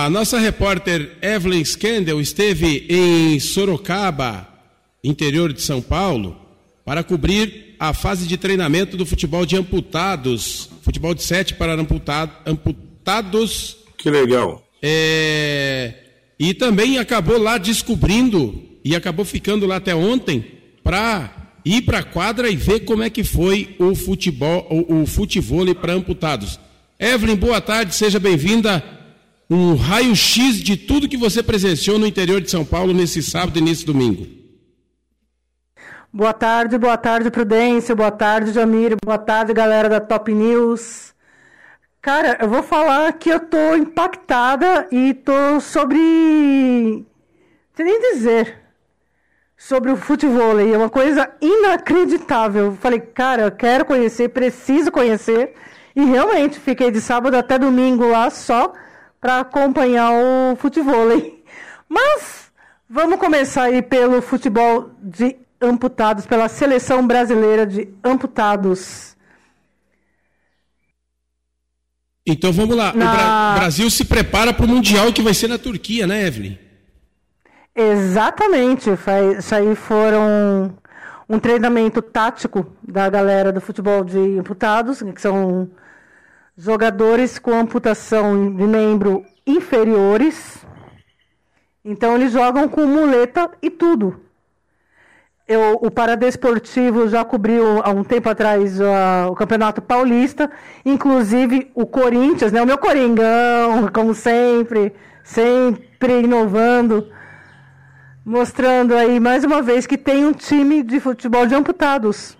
A nossa repórter Evelyn Scandell esteve em Sorocaba, interior de São Paulo, para cobrir a fase de treinamento do futebol de amputados, futebol de 7 para amputados. Que legal. E também acabou lá descobrindo, e acabou ficando lá até ontem, para ir para a quadra e ver como é que foi o futebol, o futevôlei para amputados. Evelyn, boa tarde, seja bem-vinda. Um raio-x de tudo que você presenciou no interior de São Paulo nesse sábado e nesse domingo. Boa tarde, Prudêncio, boa tarde, Jamir, boa tarde, galera da Top News. Cara, eu vou falar que eu tô impactada e tô sobre... não sei nem dizer sobre o futevôlei, é uma coisa inacreditável. Eu falei, cara, eu quero conhecer, preciso conhecer, e realmente fiquei de sábado até domingo lá só para acompanhar o futevôlei. Mas vamos começar aí pelo futebol de amputados, pela seleção brasileira de amputados. Então vamos lá, o Brasil se prepara para o Mundial que vai ser na Turquia, né, Evelyn? Exatamente, isso aí foram um treinamento tático da galera do futebol de amputados, que são jogadores com amputação de membro inferiores. Então eles jogam com muleta e tudo. O Paradesportivo já cobriu há um tempo atrás o Campeonato Paulista, inclusive o Corinthians, né? O meu Coringão, como sempre inovando, mostrando aí mais uma vez que tem um time de futebol de amputados.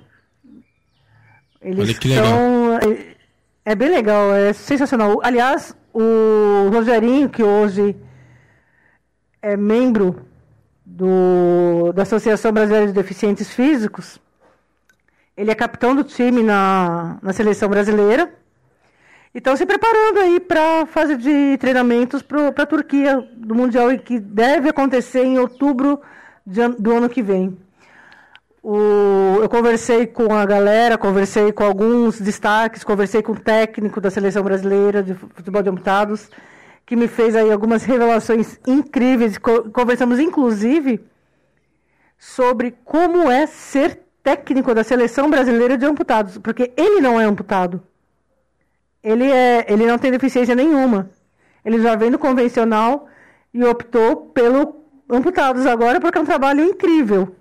Eles Olha que legal. É bem legal, é sensacional. Aliás, o Rogerinho, que hoje é membro da Associação Brasileira de Deficientes Físicos, ele é capitão do time na seleção brasileira. E estão se preparando aí para a fase de treinamentos para a Turquia do Mundial, que deve acontecer em outubro do ano que vem. Eu conversei com a galera, conversei com alguns destaques, conversei com o técnico da seleção brasileira de futebol de amputados, que me fez aí algumas revelações incríveis. Conversamos, inclusive, sobre como é ser técnico da seleção brasileira de amputados, porque ele não é amputado. Ele não tem deficiência nenhuma. Ele já vem do convencional e optou pelo amputados agora porque é um trabalho incrível.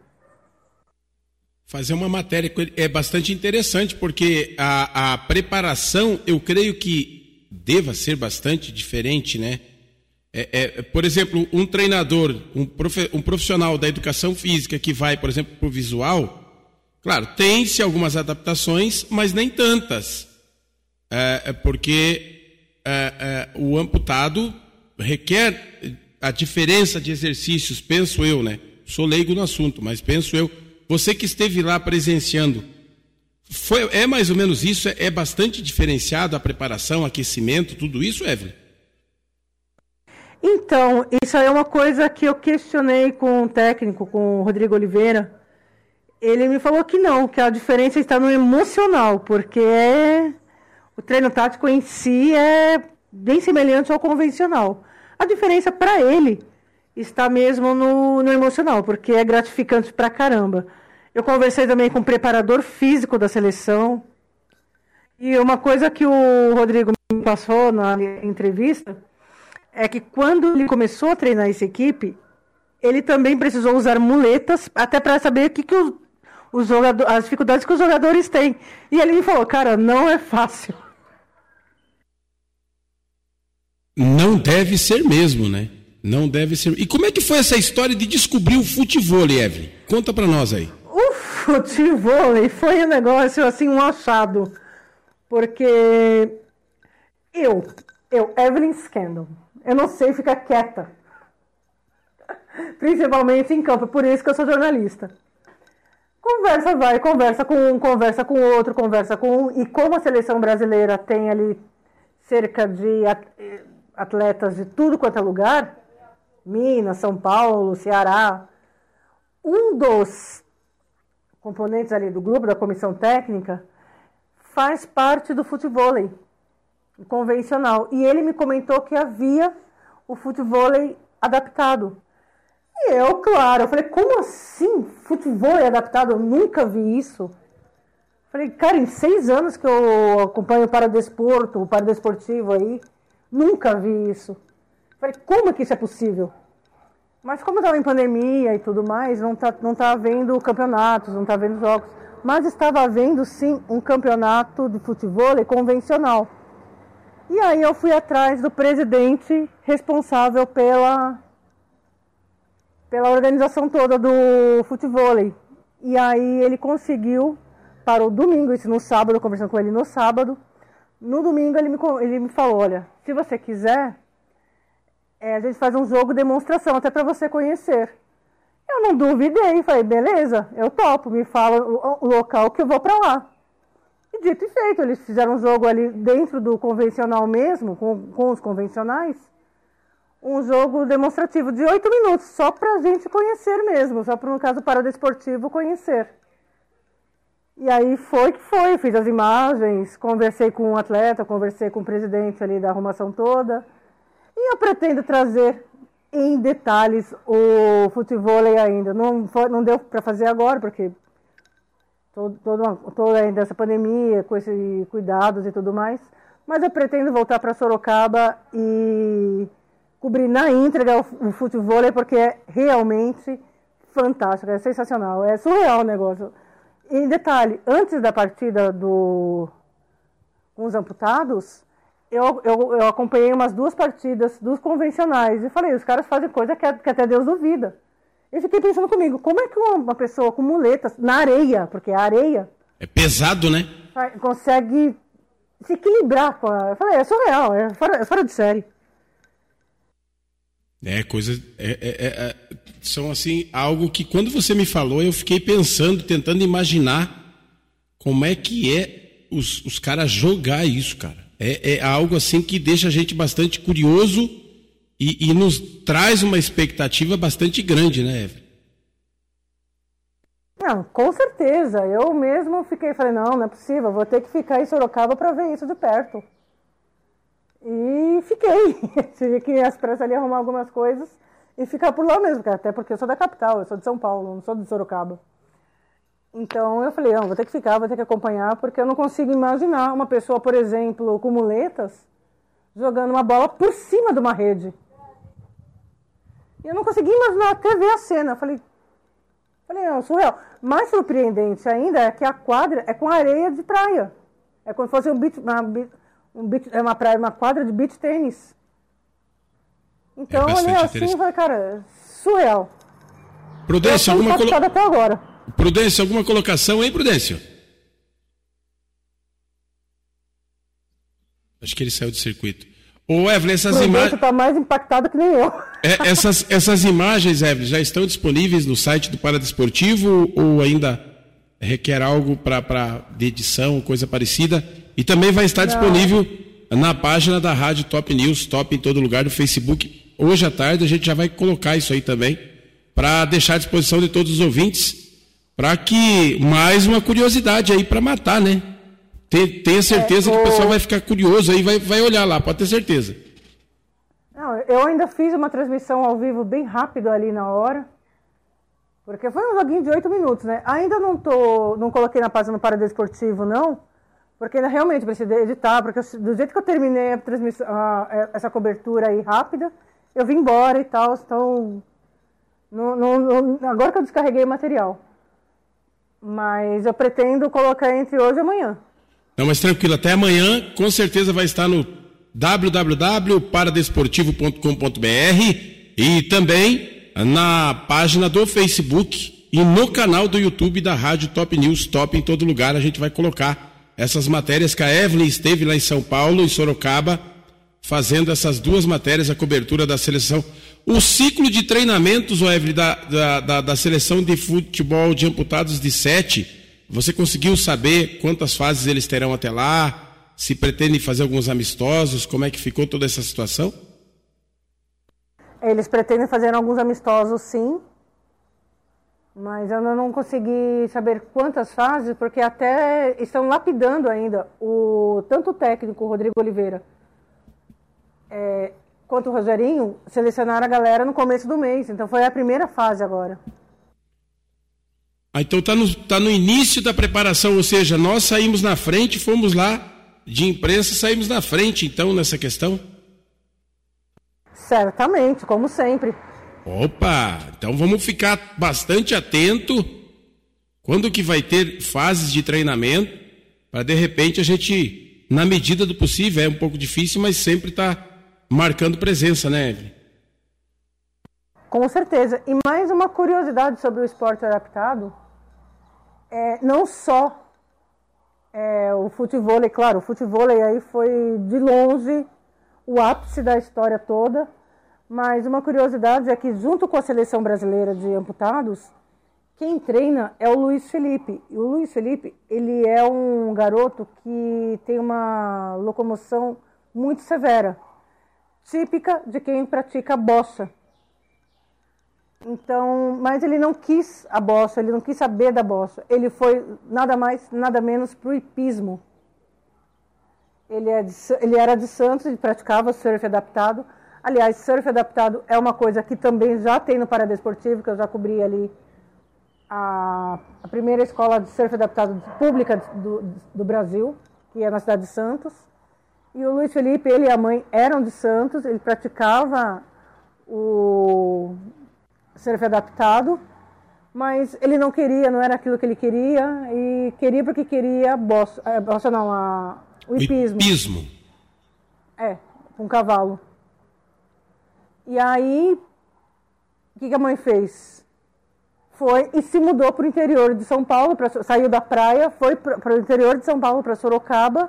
Fazer uma matéria é bastante interessante, porque a preparação, eu creio que deva ser bastante diferente, né? Por exemplo, um treinador, um profissional da educação física que vai, por exemplo, para o visual, claro, tem-se algumas adaptações, mas nem tantas. Porque o amputado requer a diferença de exercícios, penso eu, né? Sou leigo no assunto, mas penso eu. Você que esteve lá presenciando, é mais ou menos isso? É bastante diferenciado a preparação, aquecimento, tudo isso, Evelyn? Então, isso aí é uma coisa que eu questionei com o técnico, com o Rodrigo Oliveira. Ele me falou que não, que a diferença está no emocional, porque o treino tático em si é bem semelhante ao convencional. A diferença para ele está mesmo no emocional, porque é gratificante pra caramba. Eu conversei também com o preparador físico da seleção, e uma coisa que o Rodrigo me passou na entrevista é que quando ele começou a treinar essa equipe, ele também precisou usar muletas, até para saber as dificuldades que os jogadores têm. E ele me falou, cara, não é fácil. Não deve ser mesmo, né? Não deve ser. E como é que foi essa história de descobrir o futevôlei, Evelyn? Conta pra nós aí. O futevôlei foi um negócio, assim, um achado. Porque eu, Evelyn Scandell, eu não sei ficar quieta. Principalmente em campo, por isso que eu sou jornalista. Conversa vai, conversa com um, conversa com outro, conversa com um. E como a seleção brasileira tem ali cerca de atletas de tudo quanto é lugar, Minas, São Paulo, Ceará, um dos componentes ali do grupo, da comissão técnica, faz parte do futevôlei convencional. E ele me comentou que havia o futevôlei adaptado. E eu, claro, eu falei, como assim futevôlei adaptado? Eu nunca vi isso. Falei, cara, em 6 anos que eu acompanho o paradesportivo aí, nunca vi isso. Falei, como é que isso é possível? Mas como estava em pandemia e tudo mais, não tá havendo campeonatos, não tá havendo jogos. Mas estava havendo, sim, um campeonato de futevôlei convencional. E aí eu fui atrás do presidente responsável pela organização toda do futevôlei. E aí ele conseguiu, para o domingo, isso no sábado, conversando com ele no sábado. No domingo ele me falou, olha, se você quiser, a gente faz um jogo de demonstração, até para você conhecer. Eu não duvidei, falei, beleza, eu topo, me fala o local que eu vou para lá. E dito e feito, eles fizeram um jogo ali dentro do convencional mesmo, com os convencionais, um jogo demonstrativo de 8 minutos, só para a gente conhecer mesmo, só para, no caso, para o paradesportivo conhecer. E aí foi que foi, fiz as imagens, conversei com o atleta, conversei com o presidente ali da arrumação toda, e eu pretendo trazer em detalhes o futevôlei ainda. Não deu para fazer agora, porque toda ainda essa pandemia, com esses cuidados e tudo mais. Mas eu pretendo voltar para Sorocaba e cobrir na íntegra o futevôlei, porque é realmente fantástico, é sensacional, é surreal o negócio. E em detalhe, antes da partida com os amputados, eu acompanhei umas 2 partidas dos convencionais e falei, os caras fazem coisa que até Deus duvida. Eu fiquei pensando comigo, como é que uma pessoa com muletas, na areia, porque a areia... É pesado, né? Consegue se equilibrar com a... Eu falei, é surreal, é fora de série. São assim, algo que quando você me falou, eu fiquei pensando, tentando imaginar como é que é os caras jogar isso, cara. É algo assim que deixa a gente bastante curioso e nos traz uma expectativa bastante grande, né, Evelyn? Não, com certeza. Eu mesmo falei, não é possível, vou ter que ficar em Sorocaba para ver isso de perto. E fiquei. Tive que ir às pressas ali arrumar algumas coisas e ficar por lá mesmo, até porque eu sou da capital, eu sou de São Paulo, não sou de Sorocaba. Então eu falei, não, vou ter que ficar, vou ter que acompanhar, porque eu não consigo imaginar uma pessoa, por exemplo, com muletas, jogando uma bola por cima de uma rede. E eu não consegui imaginar até ver a cena. Falei, não, surreal. Mais surpreendente ainda é que a quadra é com areia de praia. É como se fosse uma quadra de beach tênis. Então eu olhei assim e falei, cara, surreal. Prudência, até agora. Prudência, alguma colocação, hein, Prudência? Acho que ele saiu do circuito. Ô, Evelyn, essas imagens... Está mais impactado que nem eu. Essas imagens, Evelyn, já estão disponíveis no site do Paradesportivo ou ainda requer algo de edição, coisa parecida? E também vai estar disponível na página da Rádio Top News, Top em todo lugar, no Facebook. Hoje à tarde a gente já vai colocar isso aí também, para deixar à disposição de todos os ouvintes, para que mais uma curiosidade aí para matar, né? Tenha certeza que o pessoal vai ficar curioso aí, vai olhar lá, pode ter certeza. Não, eu ainda fiz uma transmissão ao vivo bem rápido ali na hora, porque foi um joguinho de 8 minutos, né? Ainda não coloquei na página do Paradesportivo, não, porque ainda realmente precisei editar, porque do jeito que eu terminei a transmissão, essa cobertura aí rápida, eu vim embora e tal, então agora que eu descarreguei o material. Mas eu pretendo colocar entre hoje e amanhã. Não, mas tranquilo, até amanhã, com certeza vai estar no www.paradesportivo.com.br e também na página do Facebook e no canal do YouTube da Rádio Top News, Top em todo lugar. A gente vai colocar essas matérias que a Evelyn esteve lá em São Paulo, em Sorocaba, fazendo essas 2 matérias, a cobertura da seleção. O ciclo de treinamentos, Evelyn, da seleção de futebol de amputados de 7, você conseguiu saber quantas fases eles terão até lá? Se pretendem fazer alguns amistosos? Como é que ficou toda essa situação? Eles pretendem fazer alguns amistosos, sim. Mas eu não consegui saber quantas fases, porque até estão lapidando ainda tanto o técnico, Rodrigo Oliveira, quanto o Rogerinho, selecionaram a galera no começo do mês. Então foi a primeira fase agora. Então tá no início da preparação, ou seja, nós saímos na frente, fomos lá de imprensa, saímos na frente, então, nessa questão? Certamente, como sempre. Opa, então vamos ficar bastante atento quando que vai ter fases de treinamento, para de repente a gente, na medida do possível, é um pouco difícil, mas sempre tá marcando presença, né, Evelyn? Com certeza. E mais uma curiosidade sobre o esporte adaptado, não só o futevôlei, claro, o futevôlei aí foi de longe o ápice da história toda, mas uma curiosidade é que junto com a seleção brasileira de amputados, quem treina é o Luiz Felipe. E o Luiz Felipe, ele é um garoto que tem uma locomoção muito severa, típica de quem pratica bossa. Então, mas ele não quis a bossa, ele não quis saber da bossa. Ele foi nada mais, nada menos para o hipismo. Ele era de Santos e praticava surf adaptado. Aliás, surf adaptado é uma coisa que também já tem no Paradesportivo, que eu já cobri ali a primeira escola de surf adaptado pública do Brasil, que é na cidade de Santos. E o Luiz Felipe, ele e a mãe eram de Santos, ele praticava o surf adaptado, mas ele não queria, não era aquilo que ele queria, e queria porque queria o hipismo. Hipismo. Com um cavalo. E aí, o que a mãe fez? Foi e se mudou para o interior de São Paulo, saiu da praia, foi para o interior de São Paulo, para Sorocaba,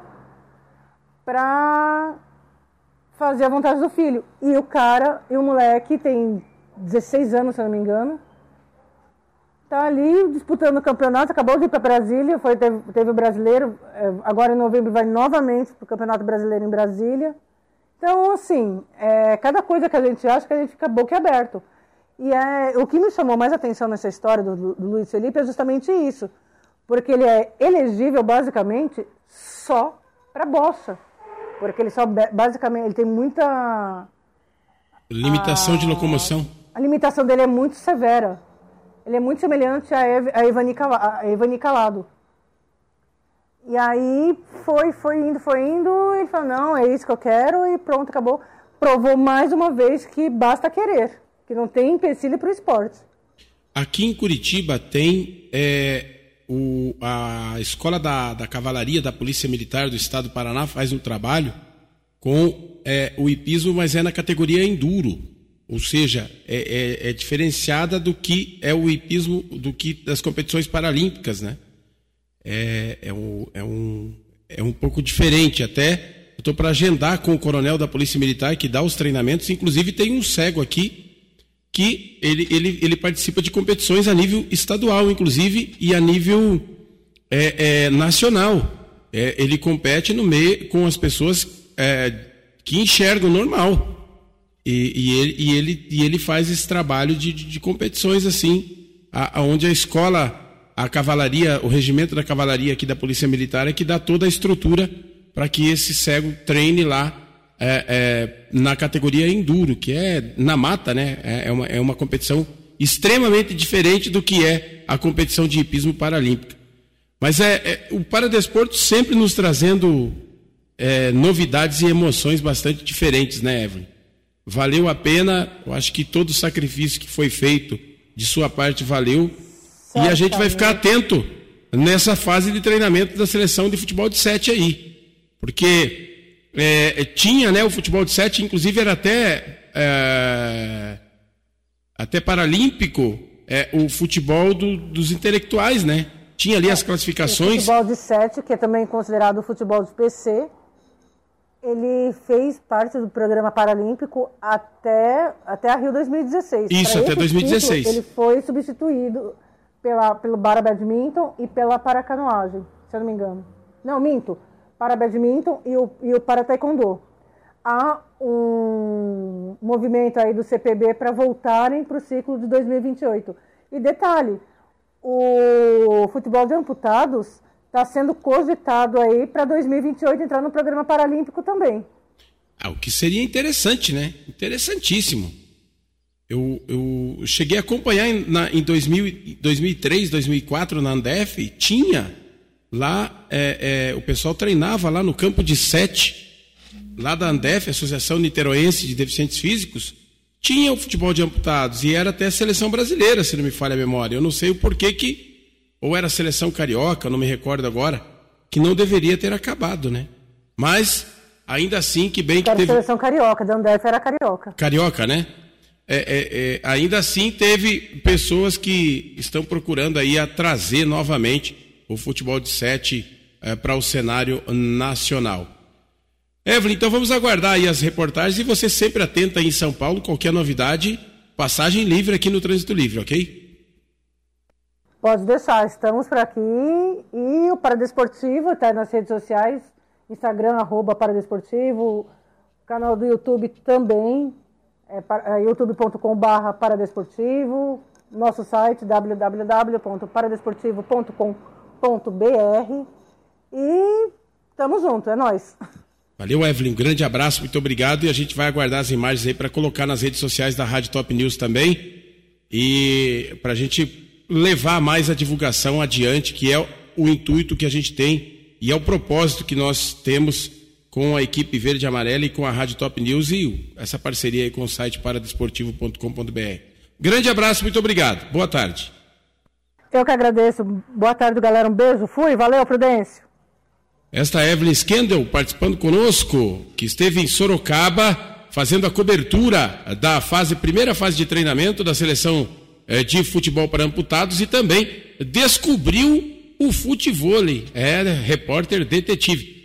para fazer a vontade do filho. E o moleque tem 16 anos, se eu não me engano, tá ali disputando o campeonato, acabou de ir para Brasília, teve o brasileiro, agora em novembro vai novamente para o Campeonato Brasileiro em Brasília. Então, assim, cada coisa que a gente acha que a gente fica boquiaberto. E o que me chamou mais atenção nessa história do Luiz Felipe é justamente isso, porque ele é elegível basicamente só para bossa, porque ele basicamente ele tem muita limitação de locomoção. A limitação dele é muito severa. Ele é muito semelhante a Evani Calado. E aí foi indo, ele falou, não, é isso que eu quero, e pronto, acabou. Provou mais uma vez que basta querer, que não tem empecilho para o esporte. Aqui em Curitiba tem a Escola da Cavalaria da Polícia Militar do Estado do Paraná, faz um trabalho com o hipismo, mas é na categoria enduro, ou seja, é diferenciada do que é o hipismo das competições paralímpicas, né? É um pouco diferente. Até eu estou para agendar com o coronel da Polícia Militar que dá os treinamentos. Inclusive tem um cego aqui que ele participa de competições a nível estadual, inclusive, e a nível nacional. Ele compete no meio com as pessoas que enxergam normal. E ele faz esse trabalho de competições assim, onde a escola, a cavalaria, o regimento da cavalaria aqui da Polícia Militar é que dá toda a estrutura para que esse cego treine lá na categoria enduro, que é na mata, né? É uma competição extremamente diferente do que é a competição de hipismo paralímpica. Mas o paradesporto sempre nos trazendo novidades e emoções bastante diferentes, né, Evelyn? Valeu a pena, eu acho que todo o sacrifício que foi feito de sua parte valeu. E a gente vai ficar atento nessa fase de treinamento da seleção de futebol de 7 aí. Porque tinha, né, o futebol de 7, inclusive era até paralímpico, o futebol dos intelectuais, né? Tinha ali as classificações. O futebol de 7, que é também considerado o futebol de PC, ele fez parte do programa paralímpico até a Rio 2016. Isso, até 2016. Título, ele foi substituído pelo Bara Badminton e pela Paracanoagem, se eu não me engano. Não, minto. Para Badminton e o Para Taekwondo. Há um movimento aí do CPB para voltarem para o ciclo de 2028. E detalhe, o futebol de amputados está sendo cogitado aí para 2028 entrar no programa paralímpico também. O que seria interessante, né? Interessantíssimo. Eu cheguei a acompanhar em 2003, 2004 na Andef, tinha lá, o pessoal treinava lá no campo de 7, lá da Andef, Associação Niteroense de Deficientes Físicos, tinha o futebol de amputados e era até a seleção brasileira, se não me falha a memória. Eu não sei o porquê ou era a seleção carioca, não me recordo agora, que não deveria ter acabado, né? Mas, ainda assim, que bem que teve... A seleção carioca, da Andef era carioca. Carioca, né? Ainda assim teve pessoas que estão procurando aí a trazer novamente o futebol de 7 para o cenário nacional. Evelyn, então vamos aguardar aí as reportagens e você sempre atenta aí em São Paulo, qualquer novidade, passagem livre aqui no Trânsito Livre, ok? Pode deixar, estamos por aqui e o Paradesportivo está nas redes sociais, Instagram, @Paradesportivo, canal do YouTube também, youtube.com/Paradesportivo, nosso site www.paradesportivo.com.br e tamo junto, é nóis. Valeu, Evelyn, um grande abraço, muito obrigado e a gente vai aguardar as imagens aí para colocar nas redes sociais da Rádio Top News também e para a gente levar mais a divulgação adiante, que é o intuito que a gente tem e é o propósito que nós temos com a equipe verde e amarela e com a Rádio Top News e essa parceria aí com o site paradesportivo.com.br. Grande abraço, muito obrigado. Boa tarde. Eu que agradeço. Boa tarde, galera. Um beijo. Fui. Valeu, Prudêncio. Esta é Evelyn Skendel participando conosco, que esteve em Sorocaba fazendo a cobertura da primeira fase de treinamento da seleção de futebol para amputados e também descobriu o futevôlei. Repórter detetive.